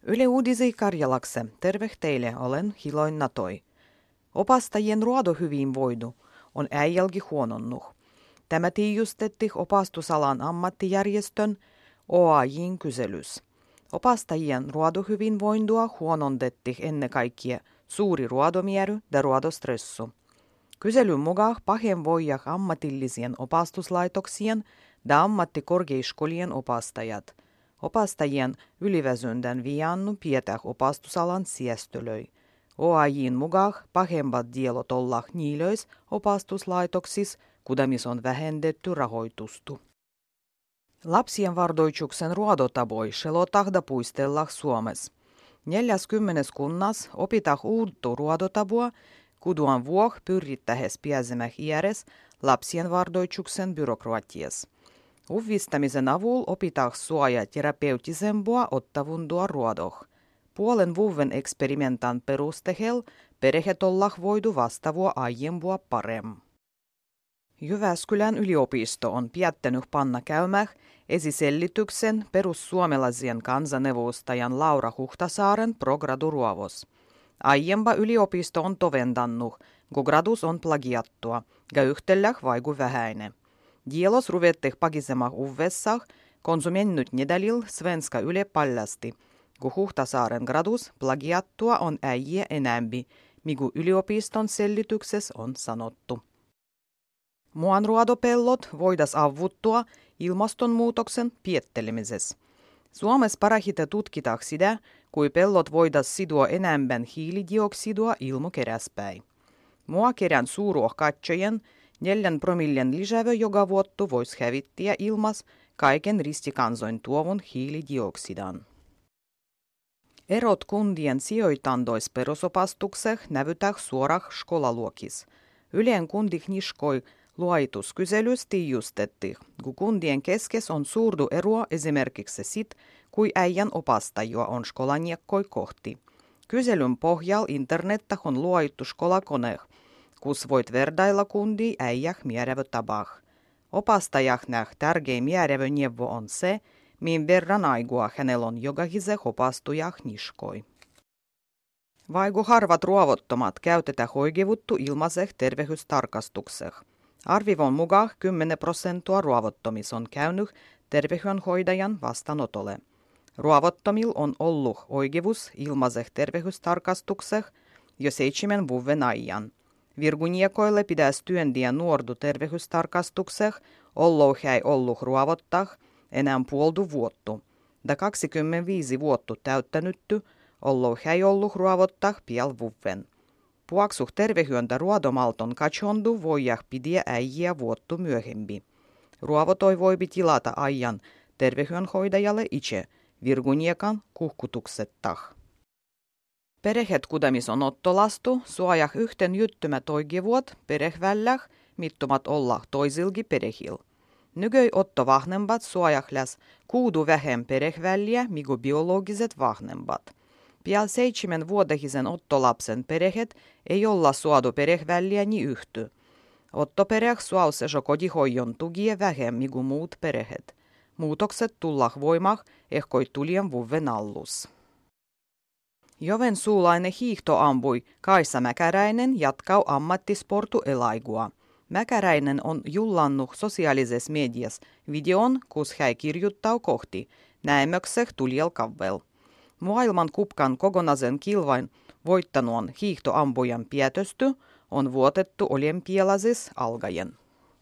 Yle Uudisi Karjalakse, terve teille, olen Hiloin Natoi. Opastajien ruodohyvinvointi on äijälki huononnut. Tämä tiijustetti opastusalan ammattijärjestön OAJ:n kyselys. Opastajien ruodohyvinvointia huonontetti ennen kaikkea suuri ruodomiery ja ruodostressu. Kyselyn mukaan pahen voijak ammatillisien opastuslaitoksien ja ammattikorkeiskolien opastajat. Opastajien yliväsyndän viannu pietäh opastusalan siestölöi. OAJ:n mukaan pahemmat dielot ollah niilöis opastuslaitoksis, kudamis on vähennetty rahoitustu. Lapsien vardoitsuksen ruodotaboi selotahda puistellah Suomes. 40 kunnas opitah uuttu ruodotabua, kuduan vuoh pyrittähes pääsemäh iäres lapsien vardoitsuksen byrokratias. Uvvistamisen avulla opitah suoja terapeutisempua ottavundua ruodoh. Puolen vuoden eksperimentan perustehel perheet ollah voidu vastavua aiempua parem. Jyväskylän yliopisto on päättänyt panna käymäh esisellityksen perussuomalaisien kansaneuvostajan Laura Huhtasaaren prograduruovos. Aiempa yliopisto on tovendannut, kun gradus on plagiattua, ja yhtelläh vaiku vähäine. Dielos ruvetteh pakisemah uvvessah, konsumennyt nedalil Svenska Yle paljasti, kun Huhtasaaren gradus plagiattua on äijä enämpi, migu yliopiston sellityksessä on sanottu. Muanruodopellot voidas avuttua ilmastonmuutoksen piettelemisessä. Suomessa parahite tutkitaan sitä, kui pellot voidas sidua enemmän hiilidioksidia ilmakeräspäin. Muakerän suuruohkatsojen 4 promillen lisävö joka vuottu vois hävittiä ilmas kaiken ristikansoin tuovun hiilidioksidan. Erot kundien sijoitandois perusopastukseh nävytäh suorah skolaluokis. Yleen kundih niskoi luoituskyselys tiijustetti, kun kundien keskes on suurdu eroa esimerkiksi sit, kui äijän opastajua on skolaniakkoi kohti. Kyselyn pohjal internettah on luoittu skolakoneh, kus voit verdailla kundi äijäh mierävö tabah. Opastajah näh tärkein mierävö neuvo on se, min verran aigua hänellä on jogahise opastujah niskoi. Vaiku harvat ruovottomat käytetään hoigivuttu ilmaseh tervehystarkastukseh. Arvivon mukaan 10% ruovottomis on käynyt terveydenhoitajan vastaanotolle. Ruovottomil on ollut oikeus ilmaiseh tervehystarkastukseh jo 7 vuoden ajan. Virguniekoille pitäisi työntiä nuordu tervehystarkastukseh, ollo hän ollut ruovottaa enää puoldu vuottu. Da 25 vuotta täyttänytty, ollo hän ollut ruovottaa piel vuoden. Puaksuh tervehyentä ruodomalton katsondu voijah pidiä äijä vuottu myöhempi. Ruovotoi voipi tilata ajan terveydenhoitajalle itse virguniekan kuhkutuksettah. Perheet kudamis on ottolastu suojah yhten jyttymä toigivuot perehvälläh mittomat olla toisilgi perehil. Nygöi otto vahnembat suojahläs kuudu vähem perehvälliä migu biologiset vahnembat. Pian 7-vuotehisen ottolapsen perheet ei olla suodu perehvälliä ni yhty. Ottopereh suause jo kotihoijon tugie vähemmin kuin muut perheet. Muutokset tullah voimah ehkoi tulien vuoden allus. Joensuulainen hiihtoampui Kaisa Mäkäräinen jatkau ammattisportu elaigua. Mäkäräinen on jullannut sosiaalisessa mediassa videon, kus hän kirjuttau kohti näemökseh tuliel kavvel. Maailman kupkan kokonaisen kilvain voittanuon hiihtoampujan pietösty on vuotettu olympialaisis algaen.